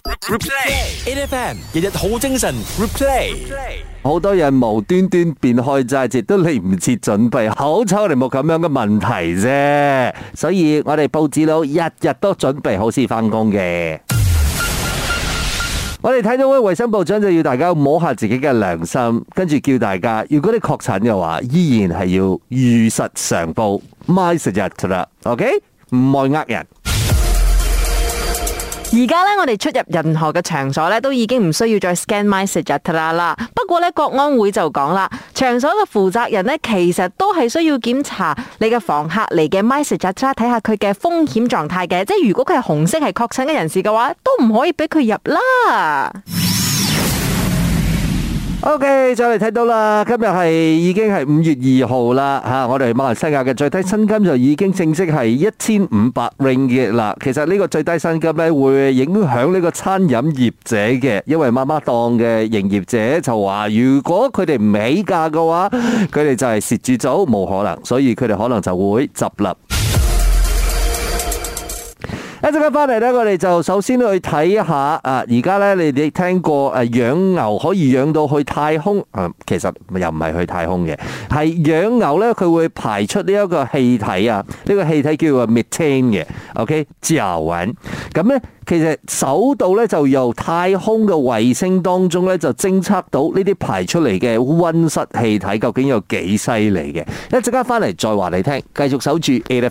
Replay，8FM 日日好精神。Replay， 好多人無端端變開齋節都嚟唔切準備，好彩我哋冇咁樣嘅問題啫。所以我哋報紙佬日日都準備好先翻工嘅。我哋睇到衛生部長就要大家摸下自己嘅良心，跟住叫大家，如果你確診嘅話，依然係要如實上報 MySejahtera 啦 ，OK？ 唔愛呃人。 而家咧，我哋出入任何嘅場所咧，都已經唔需要再 scan MySejahtera啦。不過咧，國安會就講啦，場所嘅負責人咧，其實都係需要檢查你嘅訪客嚟嘅 MySejahtera，睇下佢嘅風險狀態嘅。即係如果佢係紅色係確診嘅人士嘅話，都唔可以俾佢入啦。 OK， 再嚟睇到啦，今日已經係5月2號啦吓，我哋馬來西亞嘅最低薪金就已經正式係1500 ringgit 啦。其實呢個最低薪金咧會影響呢個餐飲業者嘅，因為媽媽檔嘅營業者就話，如果佢哋唔起價嘅話，佢哋就係蝕住走，冇可能，所以佢哋可能就會執笠。一陣間翻嚟咧，我哋就首先去睇一下啊！而家咧，你哋聽過養牛可以養到去太空？其實又唔係去太空嘅，係養牛咧，佢會排出呢一個氣體啊！呢個氣體叫做 methane 嘅 ，OK， 甲烷。咁咧，其實首度咧就由太空嘅衛星當中咧就偵測到呢啲排出嚟嘅溫室氣體究竟有幾犀利嘅。一陣間翻嚟再話你聽，繼續守住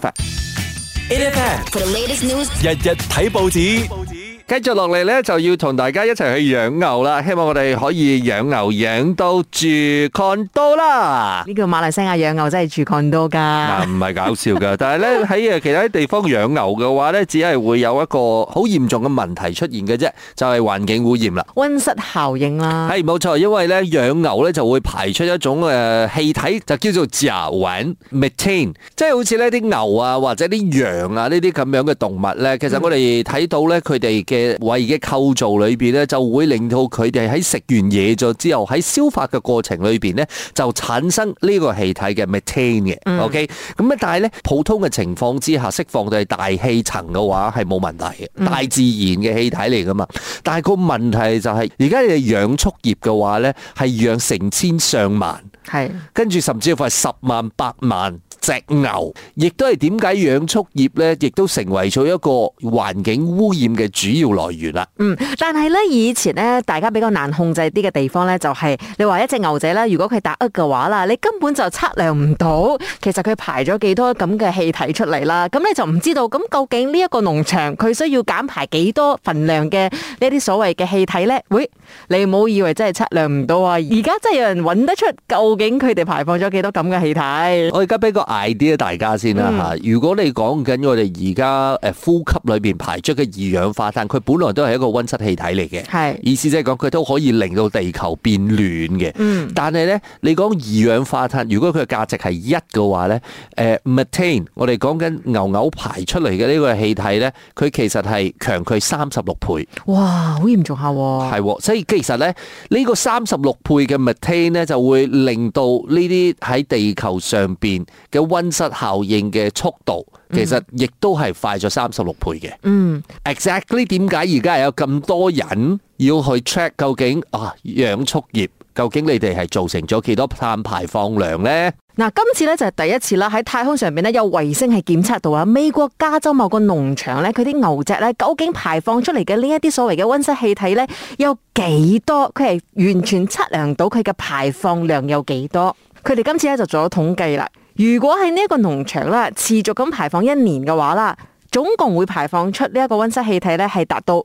8FM， For the latest news， 日日睇報紙。 繼續落嚟咧，就要同大家一齊去養牛啦。希望我哋可以養牛養到住 condo 啦。 呢個馬來西亞養牛真係住 condo 噶， 唔係搞笑噶。但係咧喺其他地方養牛嘅話咧，只係會有一個好嚴重嘅問題出現嘅啫，就係環境污染啦。 溫室效應啦。 係冇錯，因為咧養牛咧就會排出一種氣體，就叫做甲烷 methane， 即係好似呢啲牛啊或者啲羊啊呢啲咁樣嘅動物咧，其實我哋睇到咧佢哋嘅胃嘅構造裏邊咧，就會令到佢哋喺食完嘢咗之後，喺消化嘅過程裏邊咧，就產生呢個氣體嘅 methane 嘅。OK， 咁啊，但係咧普通嘅情況之下，釋放到係大氣層嘅話係冇問題嘅，大自然嘅氣體嚟噶嘛。但係個問題就係，而家你哋養畜業嘅話咧，係養成千上萬，係跟住甚至乎係10萬、100萬。隻牛，亦都係點解養畜業咧，亦都成為咗一個環境污染嘅主要來源啦。 但係咧以前咧，大家比較難控制啲嘅地方咧，就係你話一隻牛仔咧，如果佢打嘅話啦，你根本就測量唔到，其實佢排咗幾多咁嘅氣體出嚟啦。咁你就唔知道，咁究竟呢一個農場佢需要減排幾多份量嘅呢啲所謂嘅氣體咧？喂，你唔好以為真係測量唔到啊！而家真係有人揾得出究竟佢哋排放咗幾多咁嘅氣體。 我而家俾個idea大家先啦吓，如果你講緊我哋而家呼吸裏邊排出嘅二氧化碳，佢本來都係一個溫室氣體嚟嘅，係意思即係講佢都可以令到地球變暖嘅。但係咧，你講二氧化碳，如果佢嘅價值係1嘅話咧，methane 我哋講緊牛排出嚟嘅呢個氣體咧，佢其實係強佢36倍。 哇，好嚴重下喎。 係，所以其實咧呢個36倍嘅 methane 咧就會令到呢啲喺地球上邊嘅溫室效應嘅速度，其實亦都係快咗36倍嘅。Exactly 點解而家有咁多人要去 check 究竟養畜業究竟你哋係造成咗幾多碳排放量呢？ 嗱，今次咧就係第一次啦，喺太空上邊咧有衛星係檢測到啊，美國加州某個農場咧，佢啲牛隻咧究竟排放出嚟嘅呢一啲所謂嘅溫室氣體咧有幾多？佢係完全測量到佢嘅排放量有幾多？佢哋今次咧就做咗統計啦。如果喺呢一個農場啦，持續咁排放1年嘅話啦，總共會排放出呢一個溫室氣體咧係達到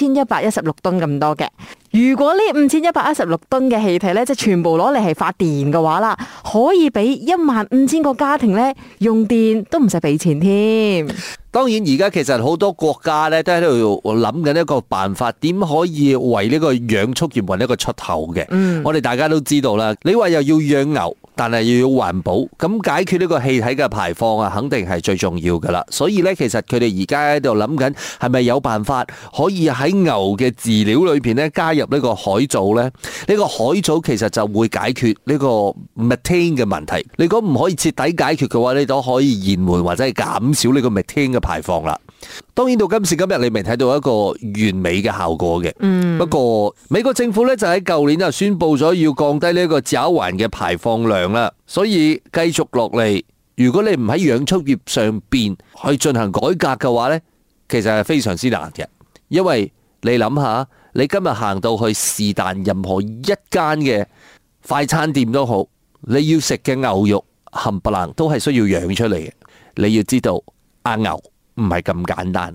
5116噸咁多嘅。如果呢5116噸嘅氣體咧，即係全部攞嚟係發電嘅話啦，可以俾15000個家庭咧用電都唔使俾錢添。 當然而家其實好多國家咧都喺度諗緊一個辦法，點可以為呢個養畜業揾一個出口嘅。我哋大家都知道啦，你話又要養牛，但係又要環保，咁解決呢個氣體嘅排放啊，肯定係最重要噶啦。所以咧，其實佢哋而家喺度諗緊，係咪有辦法可以喺牛嘅飼料裏邊咧加入呢個海藻咧？呢個海藻其實就會解決呢個 methane 嘅問題。你講唔可以徹底解決嘅話，你都可以延緩或者係減少呢個 methane 嘅排放啦。 當然到今時今日，你未睇到一個完美嘅效果嘅。不過美國政府咧就喺舊年就宣布咗要降低呢一個甲烷嘅排放量啦，所以繼續落嚟，如果你唔喺養畜業上邊去進行改革嘅話咧，其實係非常之難嘅，因為你諗下，你今日行到去是但任何一間嘅快餐店都好，你要食嘅牛肉冚唪唥都係需要養出嚟嘅。你要知道，阿牛唔係咁簡單啊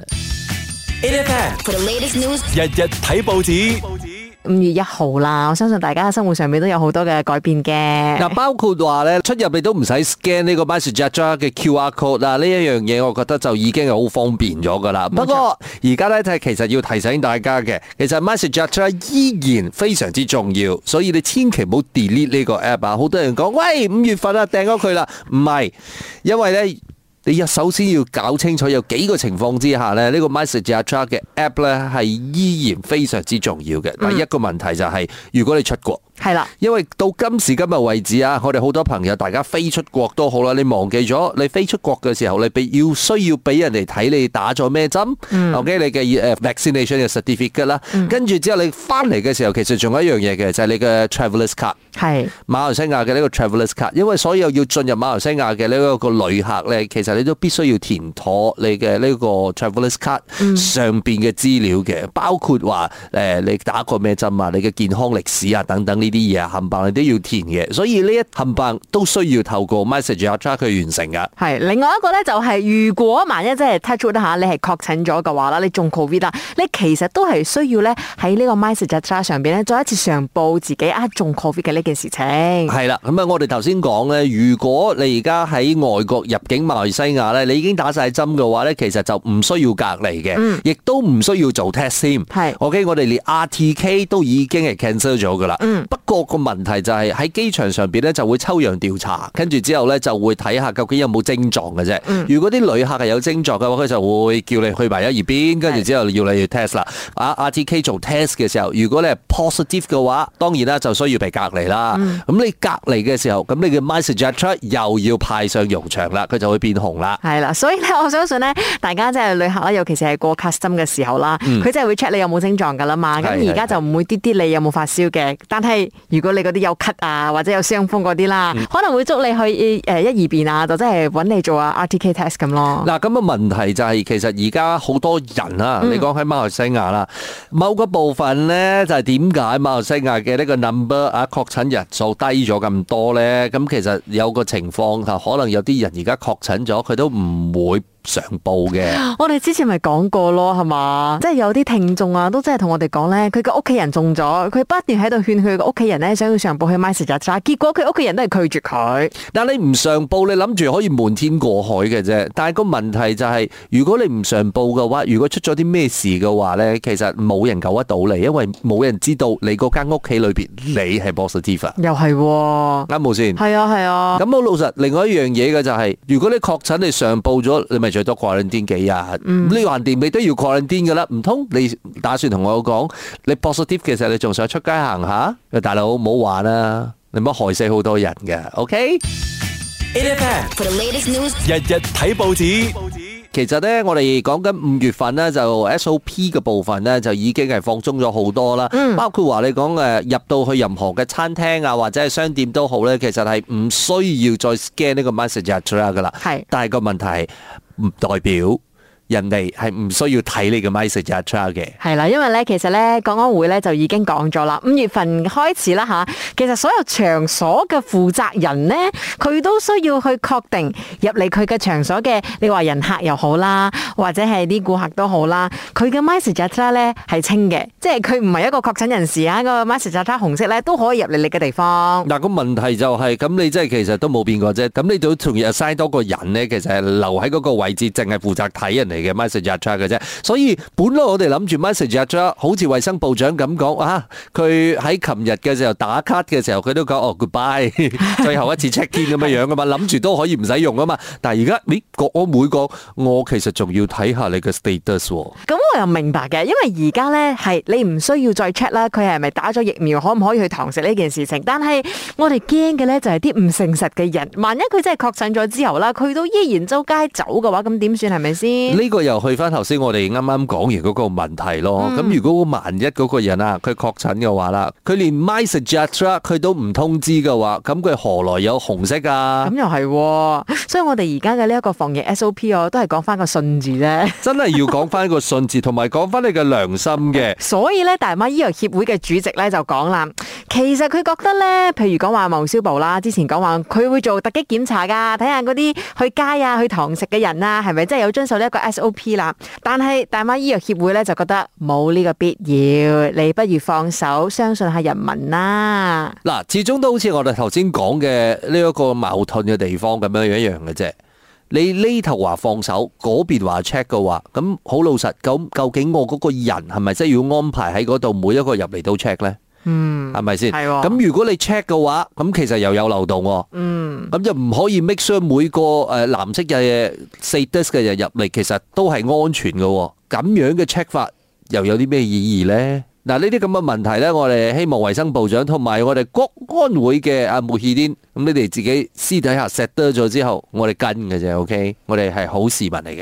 ！8FM For the latest news， 日日睇報紙。 5月1號啦，我相信大家生活上面都有好多嘅改變嘅。 嗱，包括話咧出入你都唔使 scan 呢個 MySejahtera 嘅 QR code 啦，呢一樣嘢我覺得就已經係好方便咗噶啦。不過而家咧就係其實要提醒大家嘅，其實 MySejahtera 依然非常之重要，所以你千祈唔好 delete 呢個 app 啊！好多人講喂5月份啊訂咗佢啦，唔係，因為咧。你首先要搞清楚有幾個情況之下咧，呢個 MySejahtera 嘅 app 咧係依然非常之重要嘅。第一個問題就係如果你出國。 係啦， 因為到今時今日為止啊，我哋好多朋友大家飛出國都好啦，你忘記咗你飛出國嘅時候，你需要俾人哋睇你打咗咩針，OK 你嘅vaccination 嘅 certificate 啦，跟住之後你翻嚟嘅時候，其實仲有一樣嘢嘅，就係你嘅 travelers card，係馬來西亞嘅呢個 travelers card，因為所有要進入馬來西亞嘅呢一個旅客咧，其實你都必須要填妥你嘅呢個 travelers card 上邊嘅資料嘅，包括話你打過咩針啊，你嘅健康歷史啊等等。呢啲嘢冚唪唥你都要填嘅，所以呢一冚唪唥都需要透過 MySejahtera 去完成噶。係另外一個咧，就係如果萬一即係 touch wood 下，你係確診咗嘅話啦，你中 COVID 啦，你其實都係需要咧喺呢個 MySejahtera 上邊咧再一次上報自己中 COVID 嘅呢件事情。係啦，咁啊，我哋頭先講咧，如果你而家喺外國入境馬來西亞咧，你已經打晒針嘅話咧，其實就唔需要隔離嘅，亦都唔需要做 test 先。係 OK， 我哋連 RTK 都已經係 cancel 咗噶啦。不過個問題就係喺機場上邊咧就會抽樣調查，跟住之後咧就會睇下究竟有冇症狀嘅啫。如果啲旅客係有症狀嘅話，佢就會叫你去埋一邊，跟住之後要你去 test 啦。RTK 做 test 嘅時候，如果你係 positive 嘅話，當然啦就需要被隔離啦。咁你隔離嘅時候，咁你嘅 MySejahtera 又要派上用場啦，佢就會變紅啦。 係啦，所以咧我相信咧，大家即係旅客啦，尤其是係過 custom 嘅時候啦，佢真係會 check 你有冇症狀噶啦嘛。咁而家就唔會啲你有冇發燒嘅，但係如果你嗰啲有咳啊或者有傷風嗰啲啦，可能會捉你去一二邊啊，就真係揾你做RTK test 咁咯。嗱，咁嘅問題就係其實而家好多人啊，你講喺馬來西亞啦，某個部分咧就係點解馬來西亞嘅呢個 number 確診人數低咗咁多咧？咁其實有個情況可能有啲人而家確診咗，佢都唔會上報嘅。 我哋之前咪講過咯，係嘛？即係有啲聽眾啊，都真係同我哋講咧，佢個屋企人中咗，佢不斷喺度勸佢個屋企人咧，想要上報去 MySejahtera，結果佢屋企人都係拒絕佢。 但你唔上報，你諗住可以瞞天過海嘅啫。但係個問題就係，如果你唔上報嘅話，如果出咗啲咩事嘅話咧，其實冇人救得到你，因為冇人知道你嗰間屋企裏邊你係 positive。 又係喎， 啱冇先？ 係啊係啊。咁好老實，另外一樣嘢嘅就係，如果你確診你上報咗，你咪最多quarantine幾日。呢橫掂你都要 quarantine噶啦，唔通你打算同我講，你 positive 嘅時候你仲想出街行下？大佬唔好玩啦，你唔好害死好多人嘅。OK。8FM For the latest news， 日日睇報紙。 其實咧，我哋講緊5月份咧，就 SOP 嘅部分咧，就已經係放鬆咗好多啦。包括話你講入到去任何嘅餐廳啊，或者係商店都好咧，其實係唔需要再 scan 呢個 MySejahtera 噶啦。係，但係個問題係唔代表人哋係唔需要睇你嘅 MySejahtera 嘅。係啦， 因為咧，其實咧，國安會咧就已經講咗啦，5月份開始啦吓，其實所有場所嘅負責人咧，佢都需要去確定入嚟佢嘅場所嘅，你話人客又好啦，或者係啲顧客都好啦，佢嘅 MySejahtera 咧係清嘅，即係佢唔係一個確診人士啊，個 MySejahtera 紅色咧都可以入嚟你嘅地方。 嗱，個問題就係咁，你即係其實都冇變過啫，咁你都同日 assign 多個人咧，其實係留喺嗰個位置，淨係負責睇人哋嘅 MySejahtera 嘅啫，所以本來我哋諗住 MySejahtera 好似衛生部長咁講啊，佢喺琴日嘅時候打卡嘅時候，佢都講goodbye， 最後一次 check in 咁樣樣噶嘛，諗住都可以唔使用啊嘛，但係而家國安會講，我其實仲要睇下你嘅 status。咁我又明白嘅，因為而家咧係你唔需要再 check 啦，佢係咪打咗疫苗，可唔可以去堂食呢件事情？但係我哋驚嘅咧就係啲唔誠實嘅人，萬一佢真係確診咗之後啦，佢都依然周街走嘅話，咁點算係咪先？ 呢個又去翻頭先我哋啱啱講完嗰個問題咯。咁如果萬一嗰個人啊，佢確診嘅話啦，佢連 MySejahtera 佢都唔通知嘅話，咁佢何來有紅色啊？ 咁又係，所以我哋而家嘅呢一個防疫 SOP 都係講翻個信字啫。 真係要講翻個信字，同埋講翻你嘅良心嘅。 所以咧，大馬醫藥協會嘅主席咧就講啦，其實佢覺得咧，譬如講話貿消部啦，之前講話佢會做突擊檢查噶，睇下嗰啲去街啊、去堂食嘅人啊，係咪真係有遵守呢一個 SOP 啦？但係大馬醫藥協會咧就覺得冇呢個必要，你不如放手，相信下人民啦。 嗱，始終都好似我哋頭先講嘅呢一個矛盾嘅地方咁樣一樣嘅啫。你呢頭話放手，嗰邊話 check 嘅話，咁好老實，咁究竟我嗰個人係咪真係要安排喺嗰度每一個入嚟都 check 咧？係咪先？係。咁如果你 check 嘅話，咁其實又有漏洞。咁就唔可以 make sure 每個藍色嘅status嘅人入嚟，其實都係安全嘅。咁樣嘅 check 法又有啲咩意義咧？嗱，呢啲咁嘅問題咧，我哋希望衛生部長同埋我哋國安會嘅阿穆希丁，咁你哋自己私底下 set 得咗之後，我哋跟嘅啫 ，OK？ 我哋係好市民嚟嘅。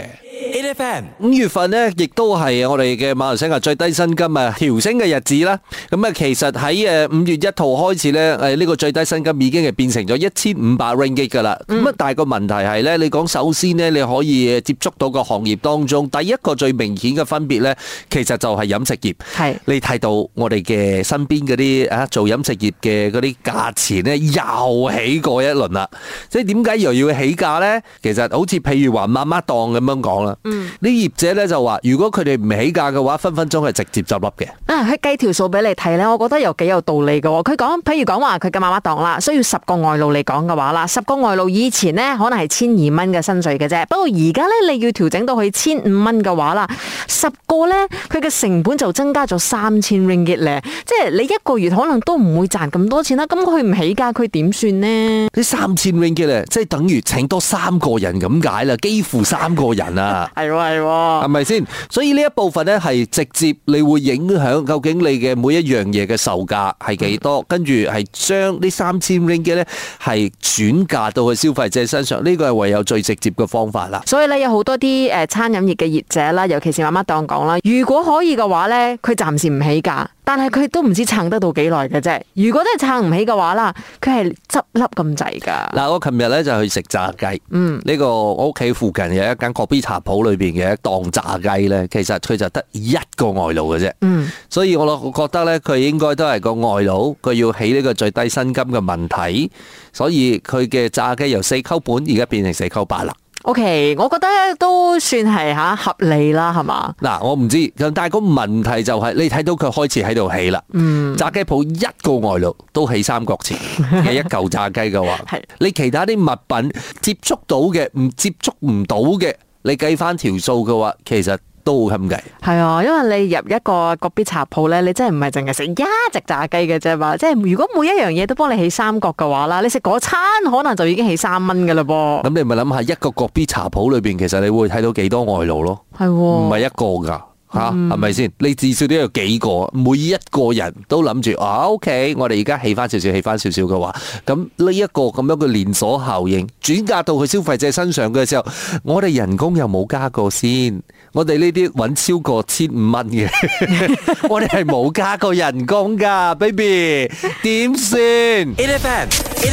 8FM 5月份呢，亦都係我哋嘅馬來西亞最低薪金啊調升嘅日子啦。咁啊，其實喺5月1號開始咧，呢個最低薪金已經係變成咗1500 ringgit 噶啦。咁啊，但係個問題係咧，你講首先呢，你可以接觸到個行業當中，第一個最明顯嘅分別咧，其實就係飲食業。係你睇到我哋嘅身邊嗰啲做飲食業嘅嗰啲價錢咧，又起過一輪啦。即係點解又要起價咧？其實好似譬如話媽媽檔咁樣講啦。啲業者咧就話，如果佢哋唔起價嘅話，分分鐘係直接執笠嘅。佢計條數俾你睇咧，我覺得又幾有道理嘅。佢講，譬如講話佢嘅媽媽檔啦，需要10個外勞嚟講嘅話啦，10個外勞以前呢可能係1200蚊嘅薪水嘅啫，不過而家咧你要調整到去1500蚊嘅話啦，10個咧佢嘅成本就增加咗3000 ringgit 咧，即係你一個月可能都唔會賺咁多錢啦。咁佢唔起價，佢點算呢？ 呢3000 ringgit 咧，即係等於請多3個人咁解啦，幾乎3個人啊！係咪先？所以呢一部分咧係直接你會影響究竟你嘅每一樣嘢嘅售價係幾多，跟住係將呢3000 ringgit 咧係轉嫁到去消費者身上，呢個係唯有最直接嘅方法啦。所以咧有好多啲餐飲業嘅業者啦，尤其是媽媽檔講啦，如果可以嘅話咧，佢暫時唔起價。但係佢都唔知撐得到幾耐嘅啫。如果真係撐唔起嘅話啦，佢係執笠咁滯噶。嗱，我琴日咧就去食炸雞。呢個我屋企附近有一間國賓茶鋪裏邊嘅一檔炸雞咧，其實佢就得一個外勞嘅啫。所以我覺得咧，佢應該都係個外勞，佢要起呢個最低薪金嘅問題，所以佢嘅炸雞由4溝半而家變成4溝8啦。OK， 我覺得都算係合理啦，係嘛？嗱，我唔知，但係個問題就係你睇到佢開始喺度起啦。炸雞鋪一個外勞都起3角錢嘅一嚿炸雞嘅話，你其他啲物品接觸到嘅，唔接觸唔到嘅，你計翻條數嘅話，其實都好襟計。係啊，因為你入一個國賓茶鋪咧，你真係唔係淨係食一隻炸雞嘅啫嘛。即係如果每一樣嘢都幫你起3角嘅話啦，你食嗰餐可能就已經起3蚊㗎啦噃。咁你咪諗下一個國賓茶鋪裏邊，其實你會睇到幾多外勞咯？係喎，唔係一個㗎。係咪先？你至少都有幾個，每一個人都諗住OK，我哋而家起翻少少嘅話，咁呢一個咁樣嘅連鎖效應轉嫁到去消費者身上嘅時候，我哋人工又冇加過先，我哋呢啲搵超過1500蚊嘅，我哋係冇加過人工噶 ，baby， 點算 ？8FM，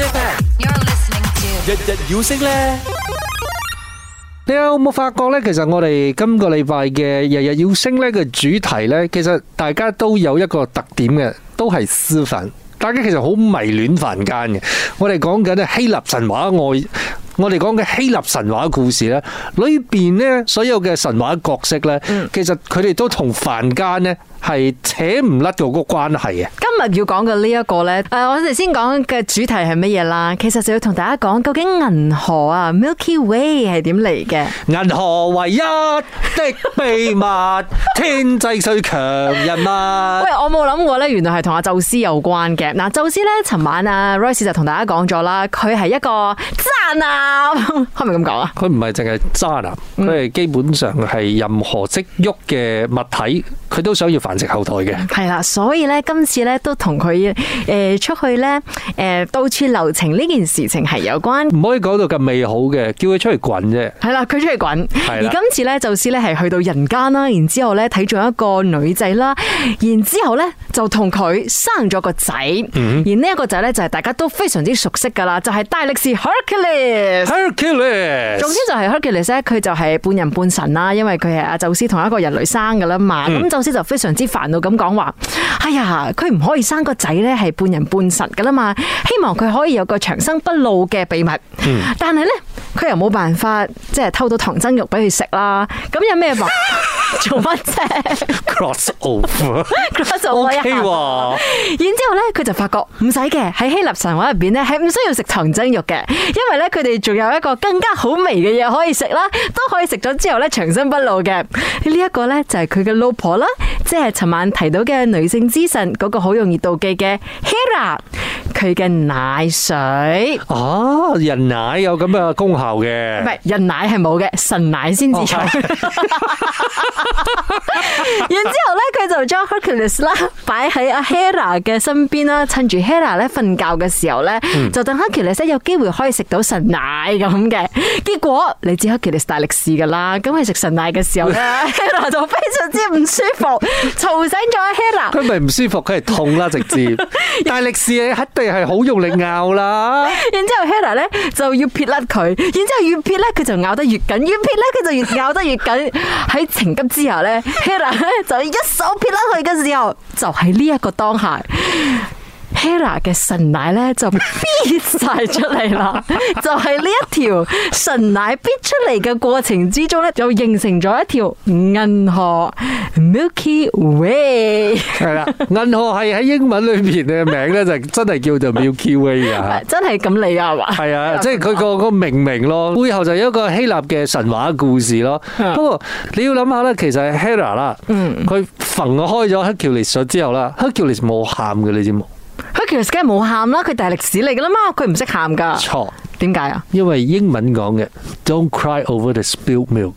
日日要升咧。 你有冇發覺呢？其實我哋今個禮拜嘅日日要升呢嘅主題呢，其實大家都有一個特點嘅，都係私憤。大家其實好迷戀凡間嘅。我哋講緊希臘神話我哋講嘅希臘神話故事呢，裏邊呢所有嘅神話角色呢，其實佢哋都同凡間呢係扯唔甩嗰個關係嘅。今日要講嘅呢一個呢，我哋先講嘅主題係乜嘢啦？其實就要同大家講，究竟銀河啊 Milky Way 係點嚟嘅？銀河唯一的秘密，天際最強人物。喂，我冇諗過呢，原來係同阿宙斯有關嘅。嗱，宙斯呢，尋晚啊 Royce 就同大家講咗啦，佢係一個渣男，係咪咁講啊？佢唔係淨係渣男，佢係基本上係任何識喐嘅物體，佢都想要繁殖後代嘅。 係啦，所以咧今次咧都同佢出去咧到處留情呢件事情係有關。 唔可以講到咁美好嘅，叫佢出去滾啫。 係啦，佢出去滾。而啦今次咧，宙斯咧係去到人間啦，然之後咧睇咗一個女仔啦，然之後咧就同佢生咗個仔。而呢一個仔咧就係大家都非常之熟悉噶啦，就係大力士 Hercules。總之就係 Hercules 咧，佢就係半人半神啦，因為佢係阿宙斯同一個人類生噶啦嘛。咁宙斯就非常之煩惱咁講話：哎呀，佢唔可以生個仔咧係半人半神噶啦嘛，希望佢可以有個長生不老嘅秘密。但係咧，佢又冇辦法即係偷到唐僧肉俾佢食啦。咁有咩話做乜啫 cross over ？cross over 一下。然之後咧，佢就發覺唔使嘅，喺希臘神話入邊咧係唔需要食唐僧肉嘅，因為咧佢哋仲有一個更加好味嘅嘢可以食啦，都可以食咗之後咧長生不老嘅。呢一個咧就係佢嘅老婆啦，即係尋晚提到嘅女性之神嗰個好容易妒忌嘅 Hera， 佢嘅奶水。 哦，人奶有咁嘅功效嘅， 唔係人奶係冇嘅，神奶先至有。然之後咧，佢就將 Hercules 啦擺喺阿 Hera 嘅身邊啦，趁住 Hera 咧瞓覺嘅時候咧，就等 Hercules 有機會可以食到神奶咁嘅。結果你知 Hercules 大力士噶啦，咁佢食神奶嘅時候咧，Hera 就非常之唔舒服，嘈醒咗阿 Hera。 佢咪唔舒服，佢係痛啦，直接。大力士一定係好用力咬啦。 然之後 Hera 咧就要撇甩佢，然之後越撇咧佢就咬得越緊，越撇咧佢就越咬得越緊。喺情急之下咧 ，Hera 咧就一手撇甩佢嘅時候，就喺呢一個當下。Hera 嘅神奶咧就逼晒出嚟啦，就係呢一條神奶逼出嚟嘅過程之中咧，就形成咗一條銀河 Milky Way。 係啦，銀河系喺英文裏邊嘅名咧就真係叫做 Milky Way 啊， 真係咁嚟啊，係嘛？ 係啊，即係佢個命名咯，背後就有一個希臘嘅神話故事咯。不過你要諗下咧，其實係 Hera 啦，佢焚開咗 Hercules 咗之後啦 ，Hercules 冇喊嘅，你知冇？ Hercules 梗係冇喊啦，佢大力士嚟噶啦嘛，佢唔識喊噶。 錯， 點解啊？ 因為英文講嘅 Don't cry over the spilled milk。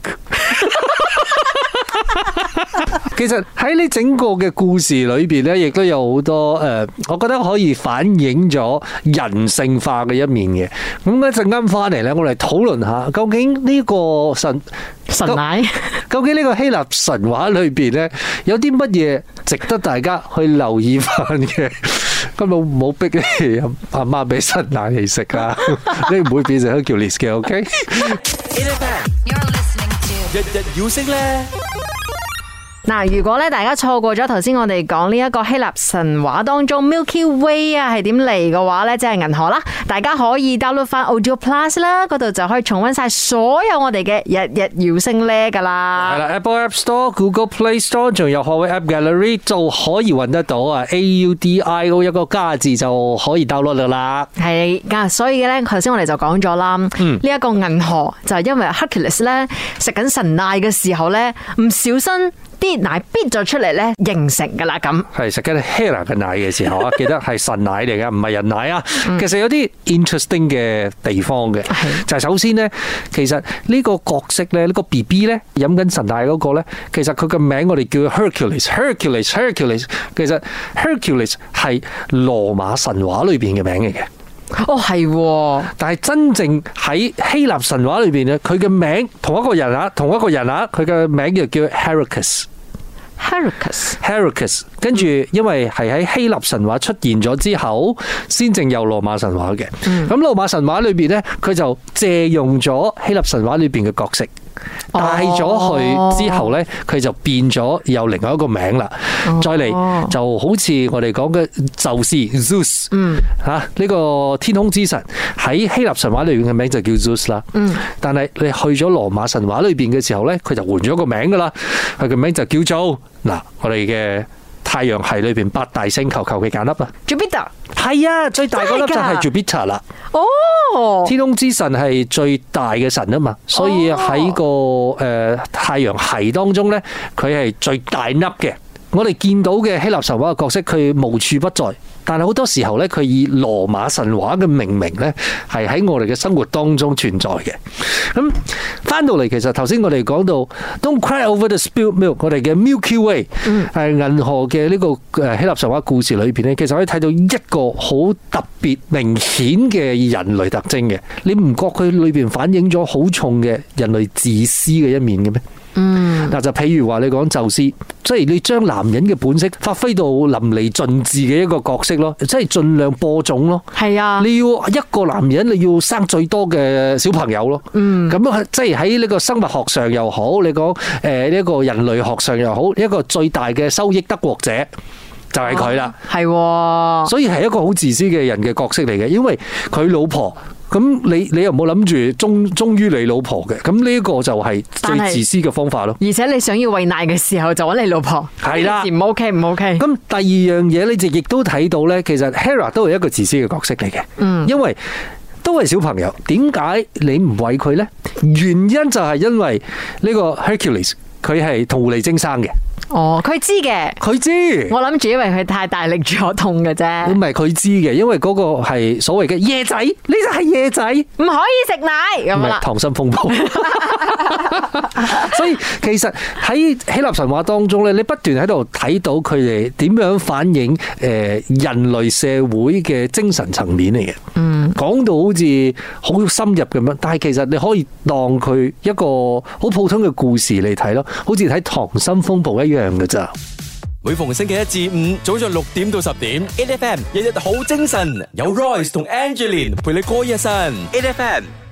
其實喺呢整個嘅故事裏邊咧，亦都有好多我覺得可以反映咗人性化嘅一面嘅。咁一陣間翻嚟咧，我哋討論下究竟呢個神奶， 究竟呢個希臘神話裏邊咧有啲乜嘢值得大家去留意翻嘅？咁唔好逼你阿媽俾神奶你食啦，你唔會變成 Hercules 嘅 ，OK？ You're listening to 日日要升咧。 嗱，如果咧大家錯過咗頭先我哋講呢一個希臘神話當中 Milky Way 啊係點嚟嘅話咧，即係銀河啦，大家可以 download 翻 Audio Plus 啦，嗰度就可以重溫晒所有我哋嘅日日要升咧噶啦。 係啦 ，Apple App Store、Google Play Store 仲有學位 App Gallery 就可以揾得到啊 ，AUDIO 一個加字就可以 download 噶啦。 係噶，所以咧頭先我哋就講咗啦，呢一個銀河就係因為 Hercules 咧食緊神奶嘅時候咧唔小心。啲奶逼咗出嚟咧，形成噶啦咁。 係食緊 Hera 嘅奶嘅時候啊，記得係神奶嚟噶，唔係人奶啊。其實有啲 interesting 嘅地方嘅，就係首先咧，其實呢個角色咧，呢個 BB 咧飲緊神奶嗰個咧，其實佢嘅名我哋叫 Hercules。其實 Hercules 係羅馬神話裏邊嘅名嚟嘅。 哦，係， 但係真正喺希臘神話裏邊咧，佢嘅名同一個人啊，佢嘅名就叫 Heracles， 跟住因為係喺希臘神話出現咗之後，先正有羅馬神話嘅。咁羅馬神話裏邊咧，佢就借用咗希臘神話裏邊嘅角色。帶咗去之後呢，佢就變咗有另外一個名啦。再嚟就好似我哋講嘅宙斯 Zeus， 呢個天空之神喺希臘神話裏邊嘅名就叫 Zeus 啦。但係你去咗羅馬神話裏邊嘅時候呢，佢就換咗個名噶啦。佢嘅名就叫做我哋嘅太陽系裏邊八大星球求其揀粒啊 Jupiter 係啊，最大嗰粒就係 Jupiter 啦。 哦， 天空之神係最大嘅神啊嘛，所以喺個太陽系當中咧，佢係最大粒嘅。 我哋見到嘅希臘神話嘅角色，佢無處不在。但係好多時候咧，佢以羅馬神話嘅命名咧，係喺我哋嘅生活當中存在嘅。咁翻到嚟，其實頭先我哋講到 Don't cry over the spilled milk， 我哋嘅 Milky Way 係銀河嘅呢個希臘神話故事裏邊咧，其實可以睇到一個好特別明顯嘅人類特徵嘅。你唔覺佢裏邊反映咗好重嘅人類自私嘅一面嘅咩？嗱，就譬如話你講宙斯，即係你將男人嘅本色發揮到淋漓盡致嘅一個角色咯，即係盡量播種咯。 係啊， 你要一個男人，你要生最多嘅小朋友咯。咁樣即係喺呢個生物學上又好，你講呢個人類學上又好，一個最大嘅收益得國者就係佢啦。 係， 所以係一個好自私嘅人嘅角色嚟嘅，因為佢老婆。咁你又冇諗住忠於你老婆嘅，咁呢個就係最自私嘅方法咯。 而且你想要餵奶嘅時候就揾你老婆， 係啦， 唔 OK 唔 OK。 咁第二樣嘢你就亦都睇到咧，其實 Hera 都係一個自私嘅角色嚟嘅，因為都係小朋友，點解你唔餵佢咧？原因就係因為呢個 Hercules 佢係同狐狸精生嘅。 哦，佢知嘅， 佢知。 我諗住因為佢太大力咗痛嘅啫。 唔係佢知嘅，因為嗰個係所謂嘅夜仔，你就係夜仔， 唔可以食奶咁啦。 溏心風暴。所以其實喺希臘神話當中咧，你不斷喺度睇到佢哋點樣反映人類社會嘅精神層面嚟嘅。講到好似好深入咁樣，但係其實你可以當佢一個好普通嘅故事嚟睇咯，好似睇溏心風暴一樣嘅咋。 每逢星期一至五早上6點到10點 ，8FM 日日好精神，有 Royce 同 Angeline 陪你過一晨，8FM。